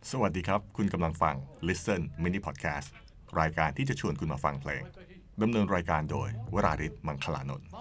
สวัสดีครับคุณกำลังฟัง Listen Mini Podcast รายการที่จะชวนคุณมาฟังเพลงดำเนินรายการโดยวราริศ มังคลานนท์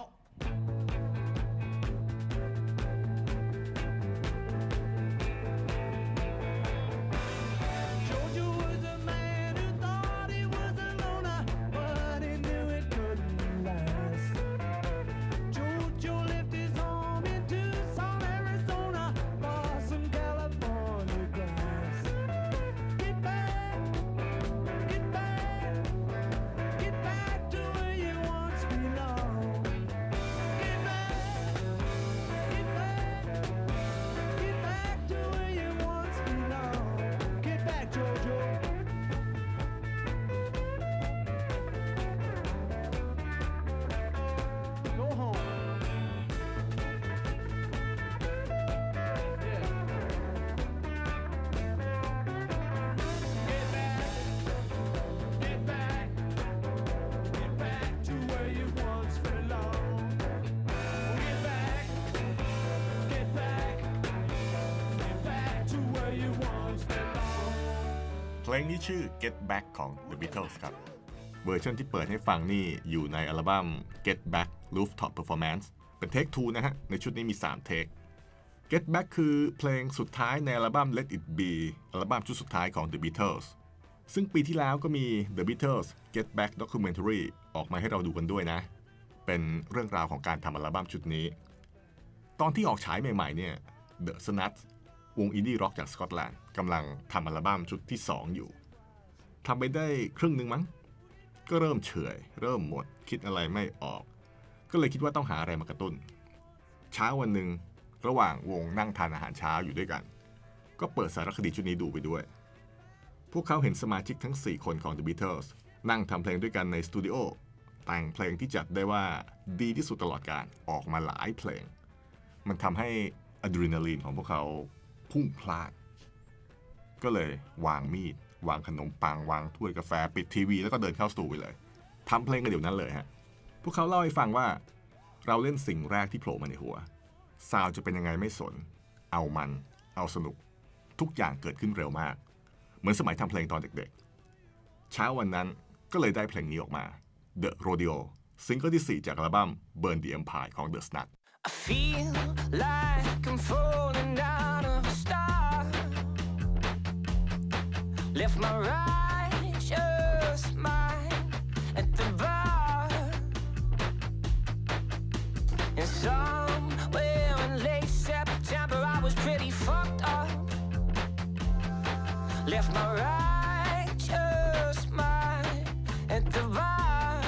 เพลงนี้ชื่อ Get Back ของ The Beatles ครับเวอร์ชันที่เปิดให้ฟังนี่อยู่ในอัลบั้ม Get Back Rooftop Performance เป็นเทค 2 นะฮะในชุดนี้มี3เทค Get Back คือเพลงสุดท้ายในอัลบั้ม Let It Be อัลบั้มชุดสุดท้ายของ The Beatles ซึ่งปีที่แล้วก็มี The Beatles Get Back Documentary ออกมาให้เราดูกันด้วยนะเป็นเรื่องราวของการทำอัลบั้มชุดนี้ตอนที่ออกฉายใหม่ๆเนี่ย The Snutsวงอินดี้ร็อกจากสกอตแลนด์กำลังทำอัลบั้มชุดที่2อยู่ทำไปได้ครึ่งนึงมั้งก็เริ่มเฉื่อยเริ่มหมดคิดอะไรไม่ออกก็เลยคิดว่าต้องหาอะไรมากระตุ้นเช้าวันหนึ่งระหว่างวงนั่งทานอาหารเช้าอยู่ด้วยกันก็เปิดสารคดีชุดนี้ดูไปด้วยพวกเขาเห็นสมาชิกทั้ง4คนของ The Beatles นั่งทำเพลงด้วยกันในสตูดิโอแต่งเพลงที่จัดได้ว่าดีที่สุดตลอดกาลออกมาหลายเพลงมันทำให้อะดรีนาลีนของพวกเขาพุ่งพลาดก็เลยวางมีดวางขนมปังวางถ้วยกาแฟปิดทีวีแล้วก็เดินเข้าสตูไปเลยทำเพลงกันเดี๋ยวนั้นเลยฮะพวกเขาเล่าให้ฟังว่าเราเล่นสิ่งแรกที่โผล่มาในหัวซาวด์จะเป็นยังไงไม่สนเอาสนุกทุกอย่างเกิดขึ้นเร็วมากเหมือนสมัยทำเพลงตอนเด็กๆเช้าวันนั้นก็เลยได้เพลงนี้ออกมา The Rodeo ซิงเกิลที่4จากอัลบั้ม Burn the Empire ของ The Snuts I feel like I'm falling out of a star. Left my righteous mind at the bar. And somewhere in late September I was pretty fucked up. Left my righteous mind at the bar.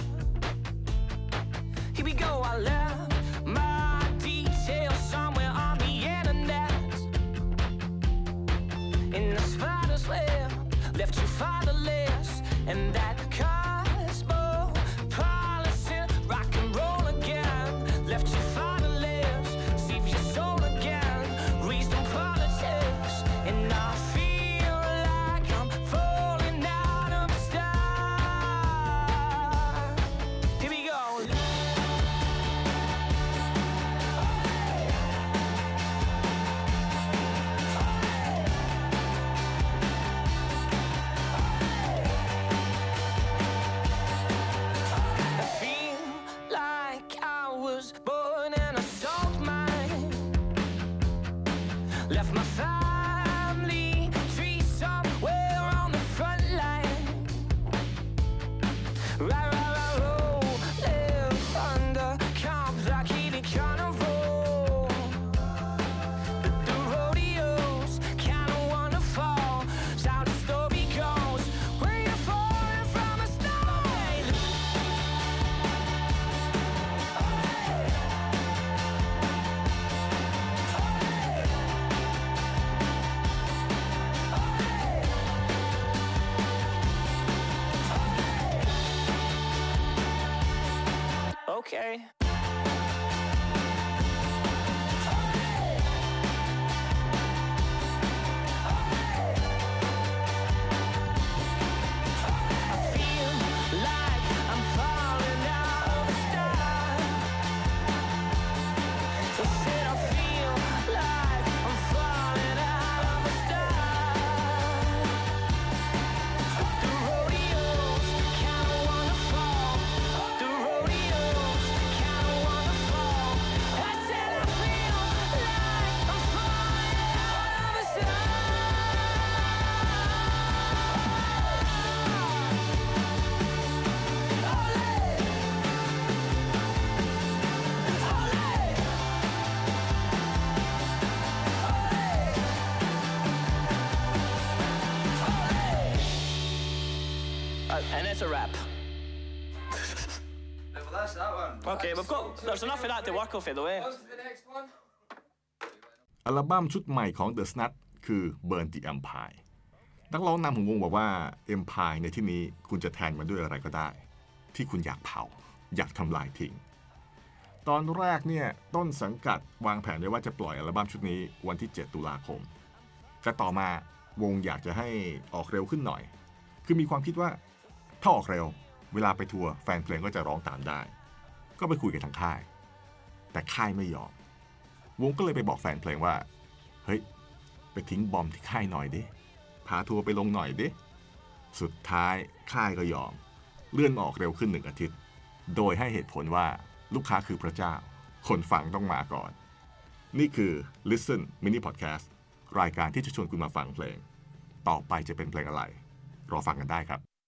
Here we go, I left my details somewhere on the internet. In the spider's web, left you fatherless. And that cosmopolitan rock and roll again, left you fatherless. Save your soul again, raised on politics. And I feel like I'm falling out of the sky. Here we go. I feel like I was born in a salt mine. Left my family tree somewhere on the front line. Right, roll, live under complicated carnival. But the rodeo's kinda wonderful. It's how the story goes. When you're falling from a star. Okay. I feel like I'm falling out of the sky. I said I feel like I'm falling out of the sky. and it's a wrap. Well, that's that one. Okay, there's enough of that to work off it, though, eh? On to the next one. อัลบั้มชุดใหม่ของ The Snuts คือ Burn the Empire นักร้องนำของวงบอกว่า Empire ในที่นี้คุณจะแทนมันด้วยอะไรก็ได้ ที่คุณอยากเผาอยากทำลายทิ้งตอนแรกเนี่ยต้นสังกัดวางแผนไว้ว่าจะปล่อยอัลบั้มชุดนี้วันที่ 7 ตุลาคมแต่ต่อมาวงอยากจะให้ออกเร็วขึ้นหน่อยคือมีความคิดว่าถ้าออกเร็วเวลาไปทัวร์แฟนเพลงก็จะร้องตามได้ก็ไปคุยกับทางค่ายแต่ค่ายไม่ยอมวงก็เลยไปบอกแฟนเพลงว่าเฮ้ยไปทิ้งบอมที่ค่ายหน่อยดิพาทัวร์ไปลงหน่อยดิสุดท้ายค่ายก็ยอมเลื่อนออกเร็วขึ้น1 อาทิตย์โดยให้เหตุผลว่าลูกค้าคือพระเจ้าคนฟังต้องมาก่อนนี่คือ Listen Mini Podcast รายการที่จะชวนคุณมาฟังเพลงต่อไปจะเป็นเพลงอะไรรอฟังกันได้ครับ